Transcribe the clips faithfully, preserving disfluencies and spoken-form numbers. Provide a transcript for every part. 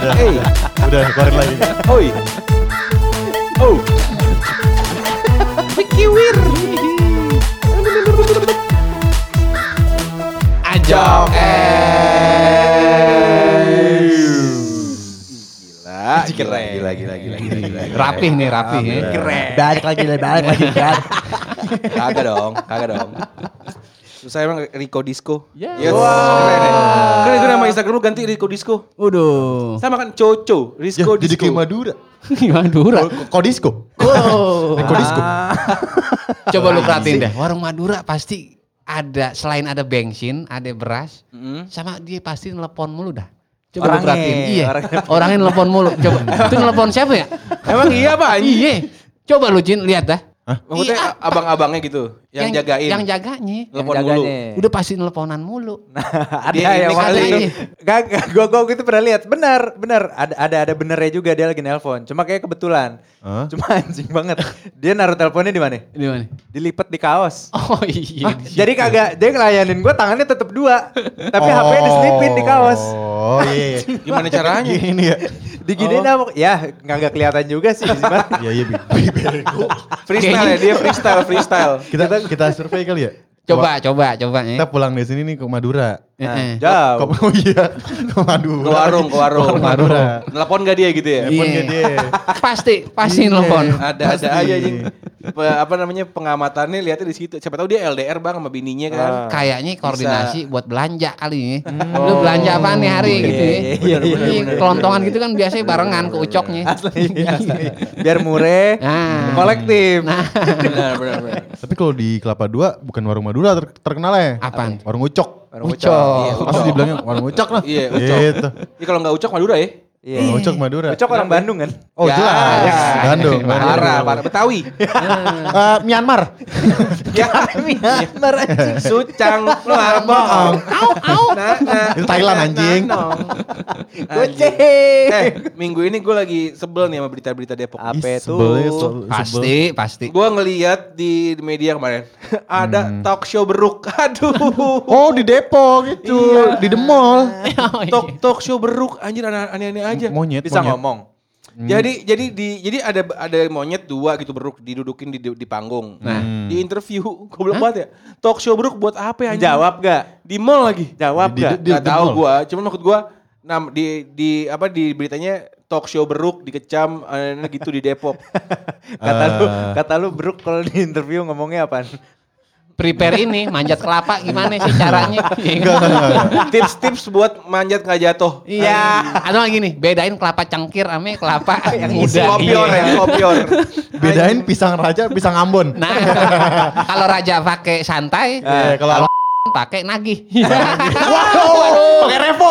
udah. Hey. Udah, keluarin lagi. Oi. Oh. Pikiwir. Ajok Gila, gila, gila, gila, gila, gila, gila. Rapih nih, rapih ya. Keren. Balik lagi, balik lagi kan. Kagak dong, kagak dong. Terus saya emang Rico Disco. Ya. Yes. Keren ya. Kan itu nama Instagram lu ganti Rico Disco. Waduh. Sama kan Coco, Ya, Risco jadi Disco. kayak Madura. Madura. Kodisco. Oh. Kodisco. Coba lu perhatiin deh, warung Madura pasti ada, selain ada bensin, ada beras, Mm-hmm. sama dia pasti nelpon mulu dah. Coba lu Orangnya, perhatiin. Iya. orangnya. Orangnya nelpon mulu. Coba. Itu nelpon siapa ya? Emang iya Pak? Iya. Coba lu Jin lihat dah. Maksudnya Iya. abang-abangnya gitu, yang, jagain. Yang jaganya. Telepon Yang mulu. jaganya. Udah pasti nelponan mulu. Ada Dia yang ini waktu kali itu. ini. Gak, gak, gua gua gitu pernah lihat. Benar, benar. Ada ada ada benernya juga dia lagi nelpon. Cuma kayak kebetulan. Hah? Cuma anjing banget. Dia naruh teleponnya di mana? Di mana? Dilipat di kaos. Oh iya. di Jadi situ. kagak dia ngelayanin gue tangannya tetap dua. Tapi H P-nya diselipin di kaos. Oh iya. Gimana caranya? Gini ya. Diginiin apa? Ya nggak kelihatan juga sih. Gimana? Iya iya bi- bego. Freestyle ya, dia freestyle, freestyle. Kita kita survei kali ya. Coba, coba, coba ya. Kita pulang dari sini nih ke Madura. Nah, Eh, eh. jauh. Kok- Oh iya. Ke Madura. Ke warung, ke warung. Warung Madura. Telepon gak dia gitu ya? Telepon Iya. ke dia. Pasti, pasti Iya. nelpon. Ada-ada Pasti. aja anjing. Pe- apa namanya pengamatannya lihatnya di situ. Siapa tahu dia L D R Bang sama bininya kan. Ah. Kayaknya koordinasi buat belanja kali ya. Hmm. Lu belanja apaan nih hari Iya, gitu ya. iya, iya, iya, Ini kelontongan gitu kan biasanya barengan ke ucoknya. Asli, asli. Biar murah, Nah. kolektif. Nah, Benar, benar, benar. Tapi kalau di Kelapa Dua bukan warung Madura ter terkenalnya. apaan? Warung Ucok. Warung Ucok. Iya, Pasti dibilangnya warung Ucok lah. Iya, Ucok. Gitu. Ini kalau nggak Ucok Madura ya? Iya. Warung Ucok Madura. Ucok orang Bandung kan? Oh Ya. jelas. Ya. Bandung. Parah, parah. Betawi. Eh, Myanmar. Ya, Myanmar anjing. Sucang, luar bohong. Au, au. Nah, nah. Itu Thailand, anjing. Nah, nong. Goceng. Eh, minggu ini gue lagi sebel nih sama berita-berita Depok. Apa Ih, itu? sebelnya sebel- sebel. Pasti, pasti. Gue ngeliat di media kemarin ada talk show beruk. Aduh. Oh di Depok itu. Iya. Di The Mall. Oh, iya. Talk talk show beruk anjir aneh-aneh aja. Monyet. Bisa monyet. ngomong. Jadi jadi di jadi ada ada monyet dua gitu beruk didudukin di di panggung. Nah, di interview goblok banget ya. Talk show beruk buat apa ya anjing? Jawab gak? Di mall lagi. Jawab Di- gak? di- Gak di tahu mall. gua, cuman maksud gua nam di di apa di beritanya talk show beruk dikecam eh, gitu di Depok. Kata lu, Eh. kata lu Bruk kalau di interview ngomongnya apaan? Prepare ini manjat kelapa gimana sih caranya? Enggak, enggak, enggak. Tips-tips buat manjat nggak jatuh. Iya, ada lagi nih, bedain kelapa cangkir ame kelapa yang muda. Kopior Iya. ya, kopior. Bedain pisang raja, pisang Ambon. Nah, kalau raja pakai santai, Eh, kalau pakai nagih. wow, pakai repo.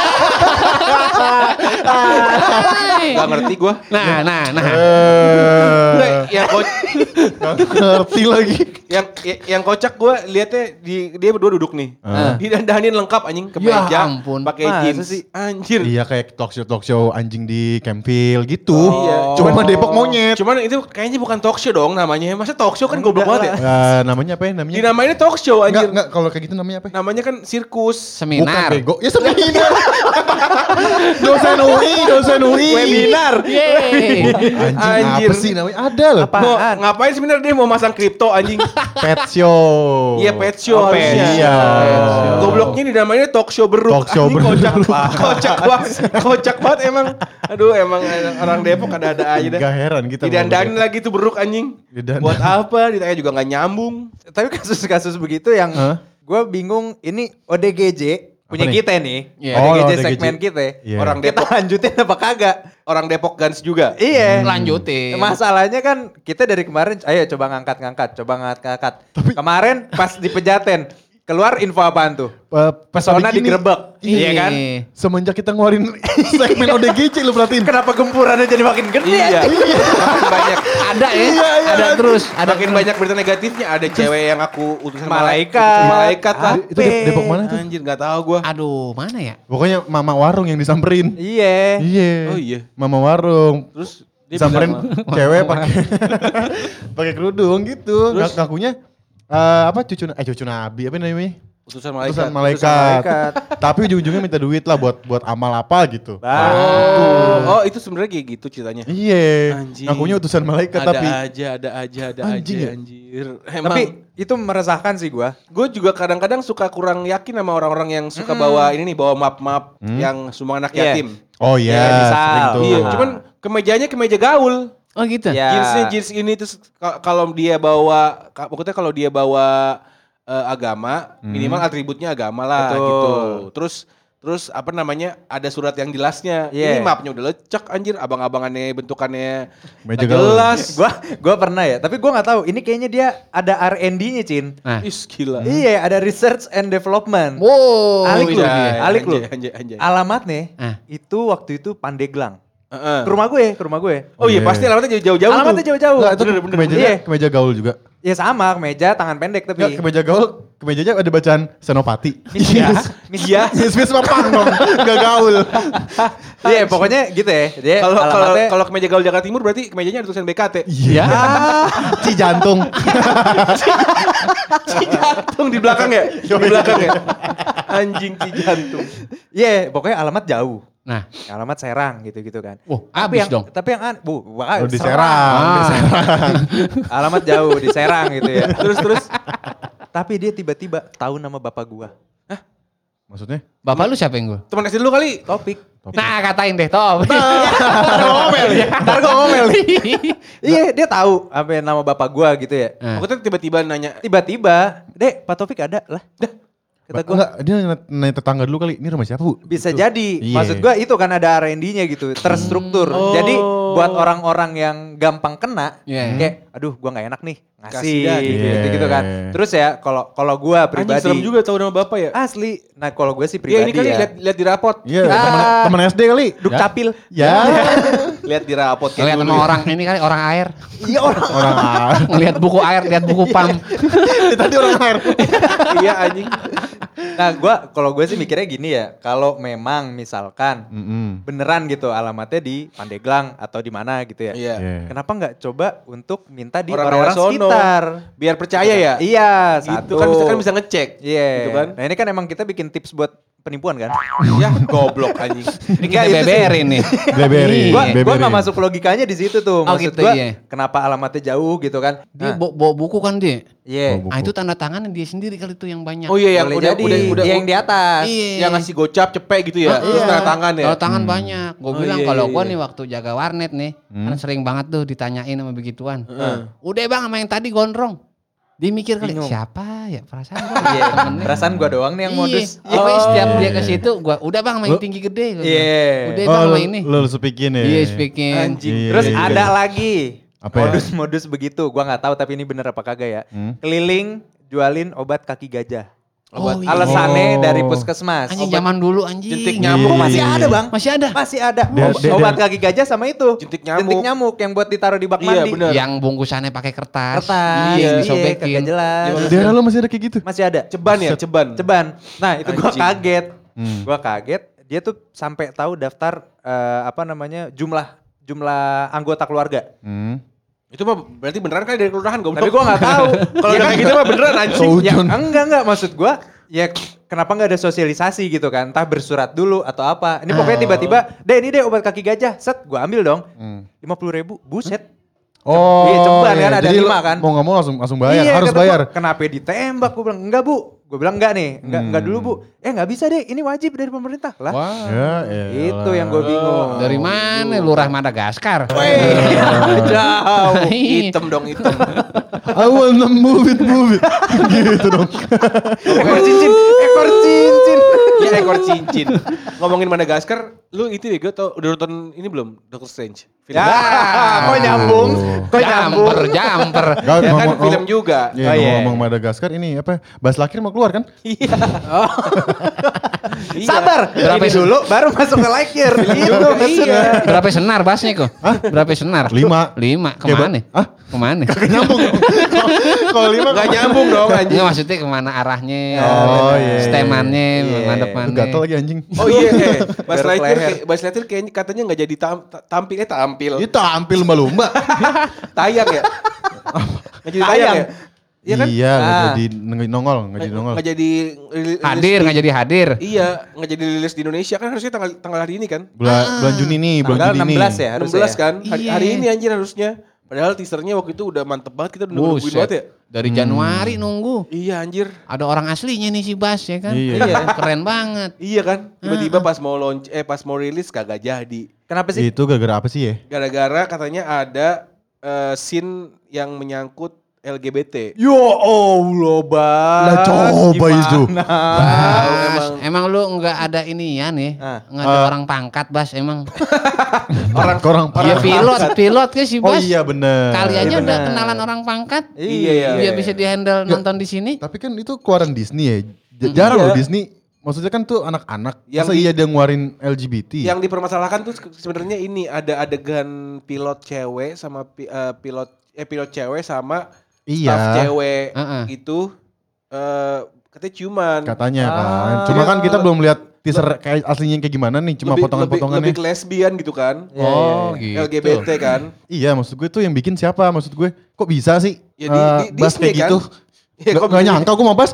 Gak ngerti gua. Nah, nah, nah. Nggak, Eh, yang ko- nggak ngerti lagi. yang yang kocak gua liatnya di dia berdua duduk nih. Eh. Didandanin lengkap anjing Ya kemeja, ampun. pakai Masa jeans. sih? Anjir. Iya kayak talk show talk show anjing di Campville gitu. Iya. Cuma Cuman- Depok monyet. Cuman itu kayaknya bukan talk show dong namanya. Masa talk show kan goblok banget ya? Eh, namanya apa ya namanya? Dinamainnya talk show Enggak, anjir. enggak kalau kayak gitu namanya apa? Namanya kan sirkus. Bukan Seminar. bego. Ya seminar. dosen U I, dosen U I. Webinar. Yeay. Anjing Anjir. apa sih namanya? Ada loh. Apa? Mau Apaan? ngapain seminar dia mau masang kripto anjing? Pet show. Iya pet show Oh, pet harusnya. Iya. Gobloknya dinamainnya talk show beruk. Talk show Anjing beruk. Kocak, kocak banget. Kocak banget emang. Aduh emang orang Depok ada-ada aja dah. Gak heran kita. Didandanin lagi tuh beruk anjing. Didandanin. Buat apa? Ditanya juga gak nyambung. Tapi kasus-kasus begitu yang Hah? gue bingung ini O D G J punya nih? kita nih. Iya. O D G J Oh, O D G J. segmen kita. Iya. Orang Kita Depok, lanjutin apa kagak? orang Depok Gans juga. Iya. Lanjutin. Masalahnya kan kita dari kemarin, ayo coba ngangkat-ngangkat, coba ngangkat-ngangkat. Kemarin pas di Pejaten, keluar info apaan tuh? Eh, Pesona Pesona gini, digerebek. Iya kan? Semenjak kita ngeluarin segmen O D G J lu perhatiin. Kenapa gempurannya jadi makin gede? Iya. Makin banyak. Ada ya, Iya, iya, ada ada. terus, ada Makin banyak berita negatifnya. Ada cewek yang aku utusan Malaikat. utusan malaikat lah. Itu Dep- Depok mana tuh? Anjir gak tahu gua. Aduh, mana ya? Pokoknya mama warung yang disamperin. Iya. Iya. Oh iya. Mama warung. Terus dia Disamperin bilang, cewek pakai pakai kerudung gitu. Ng- Ngakunya eh, apa cucu eh cucu nabi apa namanya? Utusan malaikat. Utusan malaikat. malaikat. Tapi ujung-ujungnya minta duit lah buat buat amal apa gitu. Oh, oh itu sebenarnya kayak gitu ceritanya. Iya. Anjing. Ngakunya utusan malaikat Ada tapi aja, ada aja, ada Anjing aja ya? anjir. Emang Tapi itu meresahkan sih gua. gue juga kadang-kadang suka kurang yakin sama orang-orang yang suka bawa ini nih, bawa map-map yang semua anak Iya. yatim. oh iya, Iya, misal. sering tuh. Iya, Ah. cuman kemejanya kemeja gaul. Oh gitu. Ya. Jeansnya jeans ini terus ka- kalau dia bawa, ka- pokoknya kalau dia bawa eh, agama, minimal atributnya agama lah Betul. gitu. Terus terus apa namanya? Ada surat yang jelasnya. Iya. Ini mapnya udah lecek anjir, abang-abangannya bentukannya Meja nggak gaul. jelas. Gua gua pernah ya, tapi gua nggak tahu. Ini kayaknya dia ada R and D-nya, Cin. Nah. Is gila. Iya, ada research and development. Wow. Alik lu, Anjay, alik lu. anjay, anjay, anjay. Alamatnya Ah. itu waktu itu Pandeglang. Heeh. Ke rumah gue, ke rumah gue. Oh iya, Iya. pasti alamatnya jauh-jauh tuh. Alamatnya jauh-jauh. Enggak, itu Bener, bener, kemejanya, Iya. kemeja gaul juga. Ya sama, kemeja tangan pendek tapi. Enggak, kemeja gaul, kemejanya ada bacaan Senopati. Iya. Iya. Miss-miss mah pang dong, enggak gaul. Iya, pokoknya gitu ya. Dia Kalau kalau alamatnya kalau kemeja gaul Jakarta Timur berarti kemejanya ada tulisan B K T. Iya. Ci jantung. Ci jantung di belakang ya? Di belakang ya? Anjing ci jantung. Iya, pokoknya alamat jauh. Nah, Alamat Serang gitu-gitu kan. wah, Tapi abis yang, dong. Tapi yang an, bu, wah, Oh, di Serang. Serang. Ah. Di Serang. Alamat jauh di Serang gitu ya. Terus terus Tapi dia tiba-tiba tahu nama bapak gua. Maksudnya? Bapak lu siapa yang gue? teman S D dulu kali. Topik. Nah, katain deh, Top. ngomel ya. Ntar gua ngomel. Iya, dia tahu apa nama bapak gua gitu ya. Nah. Aku tuh tiba-tiba nanya, Tiba-tiba, Dek, Pak Topik ada lah. Dah. Kata gua, Enggak, dia nanya- nanya tetangga dulu kali. Ini rumah siapa, Bu? bisa Gitu. jadi. Iya. Maksud gua itu kan ada R and D-nya gitu, terstruktur. Oh. Jadi buat orang-orang yang gampang kena, Iya. kayak aduh gua nggak enak nih ngasih Kasih dah, gitu, gitu. gitu kan. Terus ya kalau kalau gua anjing pribadi serem juga tahu nama bapak ya? asli. Nah, kalau gue sih Iya pribadi ini kali ya. lihat lihat di rapot. Iya, Ah. temen, temen S D kali. Duk Ya. capil. Ya. Lihat di rapot kayak Ngeliat dulu. sama ya. orang ini kali orang air. Iya orang. Orang A. Ngeliat buku air, lihat buku pam. Tadi orang air. Iya anjing. Nah, gua kalau gue sih mikirnya gini ya, kalau memang misalkan Mm-mm. beneran gitu alamatnya di Pandeglang atau di mana gitu ya. Iya. Iya. Kenapa nggak coba untuk minta di Orang orang-orang daerah sono. sekitar? Biar percaya ya. Iya, Gitu satu. kan bisa kan bisa ngecek. Iya. Gitu kan. Nah, ini kan emang kita bikin tips buat penipuan kan? Ya goblok anjing. Ini Enggak, kita itu sih. beberin nih. Beberi. Gua Iya. gua Beberi. nggak masuk logikanya di situ tuh. Oh, Maksud gitu, gua iya. kenapa alamatnya jauh gitu kan? Dia Nah, bawa, bawa buku kan dia. iya. Bawa Ah itu tanda tangannya dia sendiri kali itu yang banyak. Oh iya yang Boleh udah, jadi udah udah dia yang di atas. Iya. yang ngasih gocap cepet gitu ya. Ah, Terus iya. tanda tangan ya. Kalau tangan banyak. Gue Oh, bilang iya, kalau iya, gue iya. nih waktu jaga warnet nih, kan sering banget tuh ditanyain sama begituan. Heeh. Udah bang sama yang tadi gondrong. Dia mikir kali Bingung. siapa ya perasaan gua Iya, temennya. perasaan gua doang nih yang Iya. modus. Pokoknya Oh, setiap dia iya. ke situ gua udah bang sama yang tinggi gede. gua bilang. Iya. Udah Oh, bang sama lu, ini. lu speaking ya. Iya speaking. Anjing. Iya, Terus iya, iya. ada lagi Apa ya? modus-modus begitu. Gua nggak tahu tapi ini bener apa kagak ya. Hmm. Keliling jualin obat kaki gajah. Oh, iya. Alasannya Oh. dari puskesmas. Anjing Obat- zaman dulu anjing. jentik Iya, nyamuk iya, masih iya. ada bang. Masih ada. Masih ada. Dia- Ob- dia- obat dia- kaki gajah sama itu. Jentik nyamuk. Jentik nyamuk yang buat ditaruh di bak Iya, mandi. bener. Yang bungkusannya pakai kertas. Kertas. Iya, Iya, disobekin. kagak jelas. Iya, Daerah lu masih ada kayak gitu? Masih ada. Ceban ya, ceban. Ceban. Nah, itu gua Anjing. kaget. Hmm. Gua kaget. Dia tuh sampai tahu daftar eh, apa namanya jumlah jumlah anggota keluarga. Hmm. Itu mah berarti beneran kan dari kelurahan goblok. Tapi gua nggak tahu. Kalau udah kayak gitu mah beneran anjing. Kau- Ya, Ujun. enggak enggak maksud gua ya kenapa nggak ada sosialisasi gitu kan? Entah bersurat dulu atau apa. Ini pokoknya tiba-tiba, "Deh, ini deh obat kaki gajah." Set, gua ambil dong. Hmm. lima puluh ribu, buset. Oh, Iya, ceban kan, ada Jadi lima lu kan? Mau nggak mau langsung langsung bayar, Iya, harus kata gua, bayar. Kenapa ditembak? Gue bilang, enggak bu. Gue bilang enggak nih, enggak, Hmm. enggak dulu bu. Eh nggak bisa deh, ini wajib dari pemerintah. Lah, Wah. Ya, elah. itu yang gue bingung. Dari mana lurah Madagaskar? Jauh. Hitam dong hitam. I wanna move it, move it. Gitu dong. Ekor cincin, ekor cincin. Ya ekor cincin. Ngomongin Madagaskar, lu itu ya gue tau udah nonton ini belum? Doctor Strange. Film. Ya, kok nyambung? Kok nyambung? Jamper, jamper. Gak, Ya kan ngomong- film juga. Iya, Oh, iya. ngomong-ngomong Madagaskar ini apa? Bas Lakir mau keluar kan? Iya. Iya. Sabar, Berapa ini sih? dulu baru masuk ke like year. Gitu Iya. maksudnya. Berapa senar basnya kok? Berapa senar? Lima. Lima. Kayak Kemana? ba- Hah? Kemana? Nyambung. Kalau lima Gak nyambung dong anjing. Enggak maksudnya kemana arahnya? Oh, iya. Stemannya, Iya. mana Lu depannya. gatel lagi anjing. Oh iya, eh. Bas Garuk Lightyear, leher. kayak- Bas Lightyear kayaknya katanya nggak jadi tam, ta- tampil, eh tampil, Itu tampil lumba-lumba. tayang ya, nggak jadi tayang Tayang. ya. Iya kan? Iya, nggak Ah. jadi nggak nongol, nggak jadi nongol. Nggak jadi rilis Hadir di- nggak jadi hadir. Iya, nggak jadi rilis di Indonesia kan harusnya tanggal tanggal hari ini kan? Bulan bulan Juni nih, bulan Tanggal Juni enam nih. belas ya enam harusnya. belas ya? kan? Hari, Iya. hari ini anjir harusnya. Padahal teasernya waktu itu udah mantep banget, kita udah nungguin Buset. banget ya. Dari Januari nunggu. Iya anjir. Ada orang aslinya nih si Bas ya kan. Iya. Keren banget. Iya kan? Tiba-tiba pas mau launch eh pas mau rilis kagak jadi. Kenapa sih? Itu gara-gara apa sih ya? Gara-gara katanya ada eh, scene yang menyangkut L G B T. Yo Allah, Bas. Lah, coba itu. Bas, emang. emang lu nggak ada inian ya? Ah. Nggak ada Ah. orang pangkat Bas emang. Orang orang Dia pilot, pilot ke si Oh Bas. iya bener. Kali aja Iya, udah bener. kenalan orang pangkat. Iya, iya. Biar bisa dihandle nonton di sini. Tapi kan itu keluaran Disney ya. J- Jarang Iya. loh Disney. Maksudnya kan tuh anak-anak. Yang Masa di- iya dia ngeluarin L G B T? Yang dipermasalahkan tuh sebenarnya ini ada adegan pilot cewek sama pi- eh, pilot eh pilot cewek sama Iya. staff cewek Heeh. gitu eh katanya ciuman. Katanya kan. Ah. Cuma kan kita belum lihat teaser kayak aslinya kayak gimana nih. Cuma Lebih- potongan-potongannya. lebih, lebih ke lesbian gitu kan. Oh gitu. L G B T kan. Iya maksud gue tuh yang bikin siapa? Maksud gue kok bisa sih Ya, di- eh, di- bahas Disney kayak kan? gitu? Ya, Gak, kok gak bisa- nyangka gue mau bahas.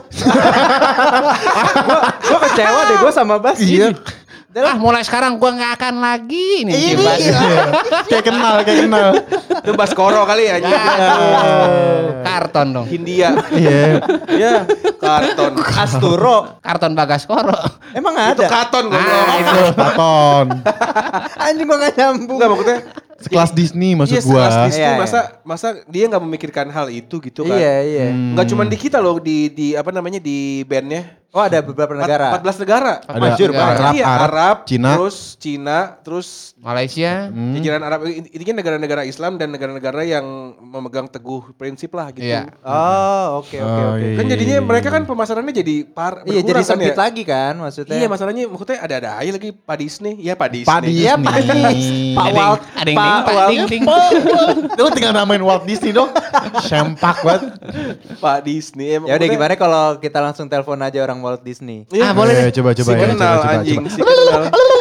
Gue kecewa deh gue sama Bas. Iya. Ah mulai sekarang gua nggak akan lagi nih si Bas. Kayak kenal, kayak kenal. Itu Baskoro kali ya. Karton dong. Hindia. Iya. Ya, karton. Asturo. Karton Bagaskoro. Emang Itu ada? karton gue. Ah itu. Taton. Anjing gue gak nyambung. Enggak maksudnya Sekelas Disney maksud iya, gue. sekelas Disney, Iya, iya. masa masa dia nggak memikirkan hal itu gitu kan? Iya, iya. Hmm. Nggak cuma di kita loh, di di apa namanya di bandnya. Oh ada beberapa negara. empat belas negara. Ada Major negara. banget. Arab, Iya, Arab, Arab, Cina. terus Cina, terus Malaysia. Hmm. jajaran Arab. Intinya negara-negara Islam dan negara-negara yang memegang teguh prinsip lah gitu. Iya. Oh oke oke Oh, oke. iya. Kan jadinya mereka kan pemasarannya jadi par Iya jadi berkurang kan sempit ya. lagi kan maksudnya. Iya masalahnya maksudnya ada-ada aja lagi Pak Disney. Ya Pak Disney. Pak Disney. Iya, Pak Disney. Pak Ada yang- Walt. ada yang Pak ding, Pak Walt. ding ding. Lu tinggal namain Walt Disney dong. Sempak banget. Pak Disney. Emang Ya udah maksudnya- gimana kalau kita langsung telepon aja orang Walt Disney. Iya. Ah, boleh Eh, deh. coba coba si ya. kenal Coba, coba, anjing, coba. si kenal.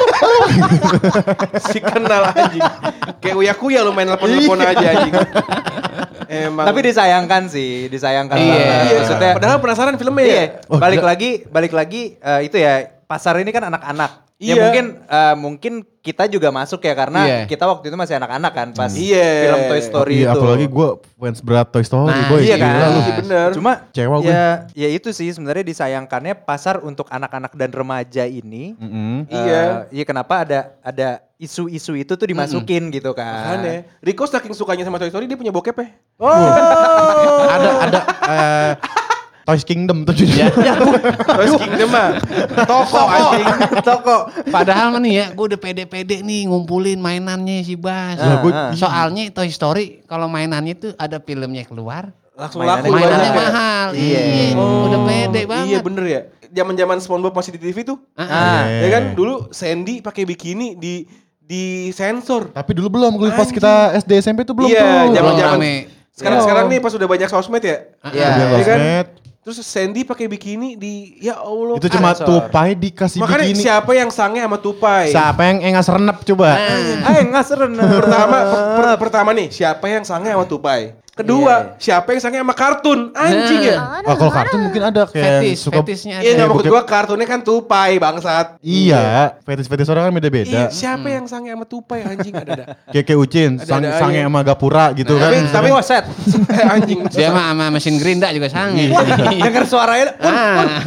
si kenal anjing. Kayak uya-kuya lu main telepon-telepon aja anjing. Emang. Tapi disayangkan sih, disayangkan Iya. banget. Iya, Maksudnya padahal penasaran filmnya ya. iya, Oh, balik gila. lagi, balik lagi eh, itu ya pasar ini kan anak-anak. Ya Iya. mungkin eh, mungkin kita juga masuk ya karena Iya. kita waktu itu masih anak-anak kan pas Iya. film Toy Story Iya, itu. apalagi gue fans berat Toy Story, Nah, boy. iya kan? Gila lu. Iya bener. Cuma Kecewa gue. ya, ya itu sih sebenarnya disayangkannya pasar untuk anak-anak dan remaja ini. Mm-mm. Iya. eh, iya kenapa ada ada isu-isu itu tuh dimasukin gitu kan? Makanya. Rico saking sukanya sama Toy Story dia punya bokep ya. Oh, Ada ada eh, Toys Kingdom tuh judulnya. Toys Kingdom mah. Toko anjing. toko. Padahal mah nih ya, gue udah pede-pede nih ngumpulin mainannya si Bas. Lah, gua- Ah, ah. Soalnya Toy Story kalau mainannya tuh ada filmnya keluar, Langsung Mainannya- laku mainannya banyak ya. mahal. Iya. Iya, Oh, udah pede banget. Iya bener ya. Zaman-zaman SpongeBob masih di T V tuh. Ah, ah. Ah, Ya kan dulu Sandy pakai bikini di di sensor. Tapi dulu belum, kalau pas kita S D S M P tuh belum Iya, tuh. zaman- Belum zaman- rame. Sekarang Iya. sekarang nih pas udah banyak sosmed ya. Iya. Udah Iya kan? sosmed. Terus Sandy pakai bikini di ya Allah. Itu cuma Sensor. tupai dikasih Makanya bikini. siapa yang sange sama tupai? Siapa yang engas renep coba? Eh nggak seren. Pertama per- per- pertama nih, siapa yang sange sama tupai? Kedua, Iya. siapa yang sange sama kartun? Anjing ya. Ah, kalau kartun mungkin ada kayak yang Fetis, suka. fetisnya Iya, ada. nggak maksud bokep. gua kartunnya kan tupai bangsat. Iya, fetis-fetis orang kan Iya, beda-beda. siapa yang sange sama tupai anjing ada ada. Kayak kayak Ucin, Ada-ada sang, aja. sange sama Gapura gitu kan. Tapi misalnya. tapi Waset. eh, anjing. Dia mah sama mesin gerinda juga sange. Dengar suaranya. Ah.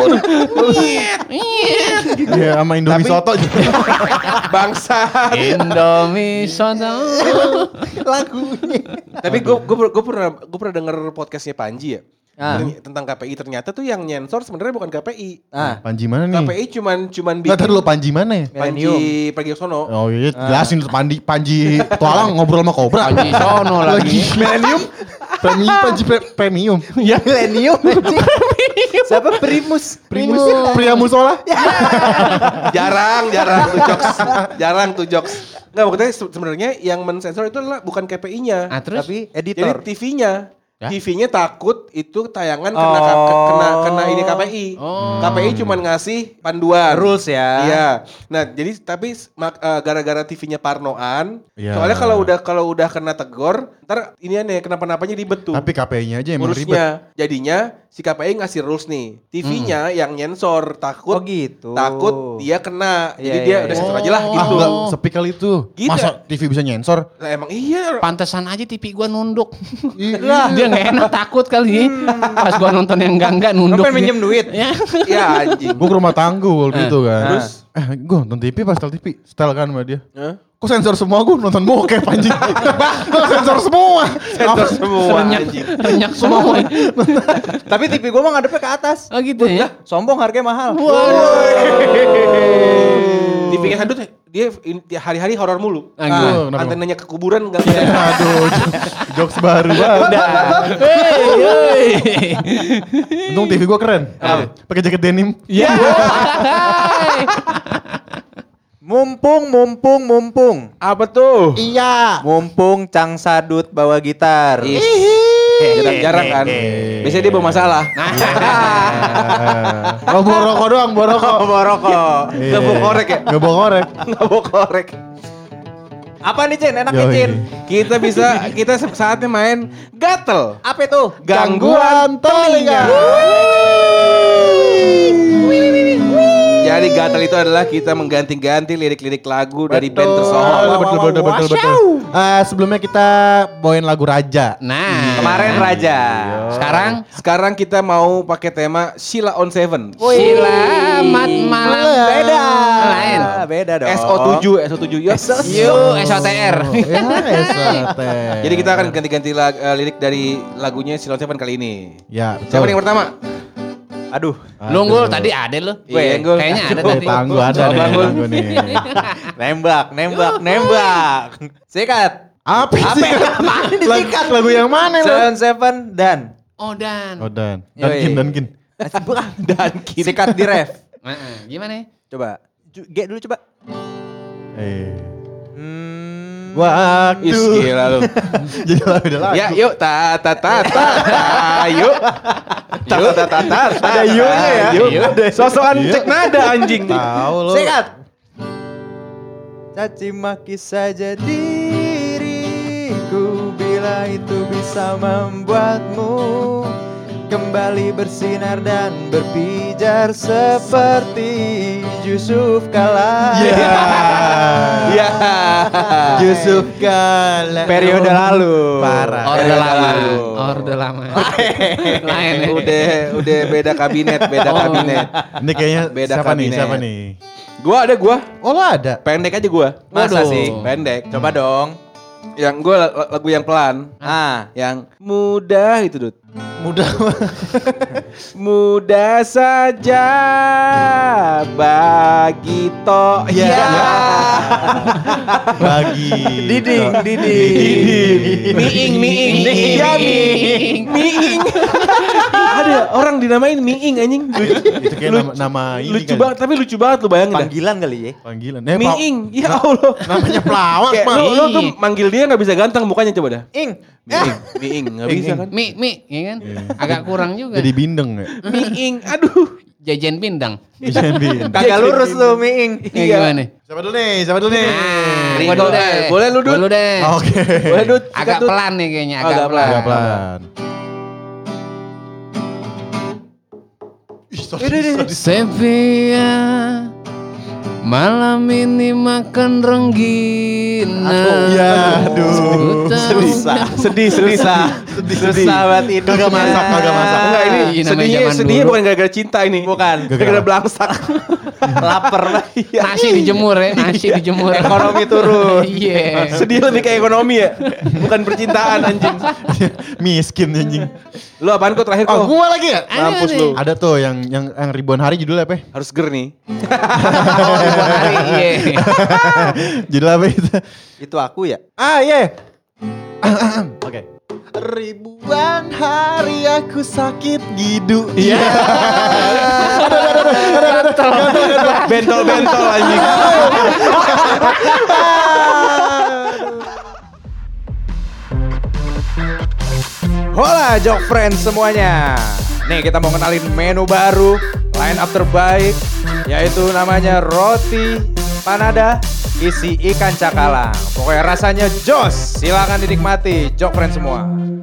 Iya, sama Indomie Tapi- Soto juga. Bangsat. Indomie soto. Lagunya. Tapi gue gue pernah gue pernah denger podcastnya Panji ya. Ah. Terny- Tentang K P I ternyata tuh yang nyensor sebenarnya bukan K P I. Ah, Panji mana K P nih? I cuman cuman Nggak tahu dulu Panji mana ya? Panji Millennium. Pragiwaksono. Oh iya, jelasin tuh Panji, Panji petualang ngobrol sama Cobra. Panji sono lagi. Millennium. Premium, Panji pre- premium. Ya Millennium. Siapa Primus? Primus, pria musola. Jarang, jarang tuh jokes. Jarang tuh jokes. Enggak maksudnya se- sebenarnya yang mensensor itu adalah bukan K P I-nya. Ah, terus? Tapi Jadi editor. T V-nya. Ya? T V-nya takut itu tayangan kena K- Oh. kena kena ini K P I. Oh. K P I cuman ngasih panduan. Rules ya. Iya. Nah, jadi tapi mak- eh, gara-gara T V-nya parnoan, Iya. soalnya kalau udah kalau udah kena tegor, Ntar ini aneh kenapa-napanya ribet tuh. Tapi K P I-nya aja emang ribet. Ngurusnya. Jadinya si K P I ngasih rules nih. T V-nya yang nyensor takut. Oh gitu. Takut dia kena. Jadi Iya, dia iya, udah iya. sensor aja lah Ah, gitu. enggak, sepi kali itu. Gitu. Masa T V bisa nyensor? Lah emang iya. Pantesan aja T V gua nunduk. Dia nggak enak takut kali. Pas gua nonton yang enggak-enggak nunduk. Lu pengen minjem duit? Ya. Ya anjing. Gue ke rumah tanggul gitu kan. Terus? Eh gue nonton T V pas setel T V. Setel kan sama dia. Hah? Kok sensor semua gue nonton bokep anjing. Kok sensor semua. Sensor semua Renyak, anjing. renyak semua. Tapi T V gua mah ngadepnya ke atas. Oh gitu ya. Sombong harganya mahal. T V-nya handut dia in- dia hari-hari horor mulu. Ah, gimana? Ah, Kenapa? antenanya ke kuburan enggak bisa. Aduh, jokes baru banget. Hey, hey. Untung T V gue keren. Pakai jaket denim. Ya. Mumpung, mumpung, mumpung. Apa tuh? Iya. Mumpung Cang Sadut bawa gitar. Ih, jarang-jarang kan. Biasanya dia bawa masalah. Oh bawa rokok doang, bawa rokok. Bawa rokok. Enggak bawa korek ya? Gak bawa korek. Enggak bawa korek. Apa nih Cin? Enaknya Yoi. Cin? Kita bisa kita saatnya main gatel. Apa itu? Gangguan telinga. Jadi gatel itu adalah kita mengganti-ganti lirik-lirik lagu dari band Oh, tersohor. betul, betul, betul, betul. Ah, sebelumnya kita bawain lagu Raja. Nah, Kemarin Raja. sekarang Sekarang kita mau pakai tema Sheila on Seven. selamat malam. Beda. Lain. Beda dong. S O tujuh, S O tujuh. Yuk. Yuk, S O T R. Ya, S A T. Jadi kita akan ganti-ganti lag- eh, lirik dari lagunya Sheila on Seven kali ini. Ya, Siapa nih yang pertama? Aduh. Lu Unggul tadi ada lu. Iya, Unggul. Kayaknya ada Oh, tadi. tangguh ada Coba, nih, Unggul. tangguh nih. Nembak, nembak, nembak. Sikat. Apa sih? Disikat lagu yang mana lo? Seven Seven dan. Oh dan. Oh Dan, Yoi. Dankin, Dankin. Dan sikat di ref. Heeh, gimana? Coba. Ju- G dulu coba. Eh, Hmm. waktu. Is gila lu. Jadi lagu udah lagu. Ya, yuk ta ta ta ta. ta, Yuk. Yuk ta ta ta. ta, Ada yuk-nya ya? Yuk. Yuk. Sosokan Yuk. cek nada anjing. Tahu lo. Sikat. Caci maki saja diriku bila itu bisa membuatmu kembali bersinar dan berpijar seperti Yusuf kala. Ya. Ya. Yusuf Kala. Periode lalu. Parah. Orde Eh, lama. lalu. Orde lama. Lain. ya. Udah udah beda kabinet, beda Oh. kabinet. Ini kayaknya Beda siapa nih? kabinet. Siapa nih? Gua ada gua. Oh lo ada? Pendek aja gua. Masa Waduh. sih? Pendek. Coba dong. Yang gua la- lagu yang pelan. Ah, Yang mudah itu, Dut. Mudah. Mudah saja bagi to. Ya. Bagi. Diding, diding. Miing, miing, iya miing, miing. Ada orang dinamain miing anjing. Lucu, Itu kayak nama, nama ini lucu kan. banget, tapi lucu banget lu bayangin dah. Panggilan kali ya. Panggilan. Eh, Pak. Miing, ya Allah. Namanya pelawak, Kayak Pak. lu, lu tuh manggil dia gak bisa ganteng mukanya coba dah. Ing. Miing, miing, gak bisa kan. Mi, mi, ya kan? Agak kurang juga. Jadi bindeng ya. Miing, aduh. Jajan pindang. Bisa bindeng. Kagak lurus lu, Miing. Ya, gimana? Siapa dulu nih? Siapa dulu nih? Nah, Ringo, gua dulu deh. eh, boleh lu, Dut? Gua dulu deh. Oke. Boleh Dut, sikat, Agak Dut. pelan nih kayaknya, Oh, agak, agak pelan. Agak pelan. Ih, sorry, sorry. Sepia malam ini makan renggina. Ya, aduh. Susah. Sedih, susah. Sedih, Susah sedih. banget itu. Kagak masak, kagak masak. Enggak ini Iya, namanya sedihnya zaman sedihnya dulu. bukan gara-gara cinta ini. Bukan. Gara-gara belangsak. Lapar banget. Nasi dijemur ya, nasi dijemur. Ekonomi turun. Iya. Sedih lebih ke ekonomi ya. Bukan percintaan anjing. Miskin anjing. Lu apaan kok terakhir Oh, kok? gua lagi ya? Mampus Ada lu. Ada tuh yang yang yang ribuan hari judulnya apa? ya? Harus ger nih. Oh, ribuan hari, iya. Judul apa itu? Itu aku ya? Ah, iya. Oke. Ribuan hari aku sakit gidu. Iya. Bentol-bentol anjing. Hola Jok Friends semuanya. Nih kita mau kenalin menu baru, line up terbaik, yaitu namanya roti panada isi ikan cakalang. Pokoknya rasanya jos. Silakan dinikmati, Jok Friends semua.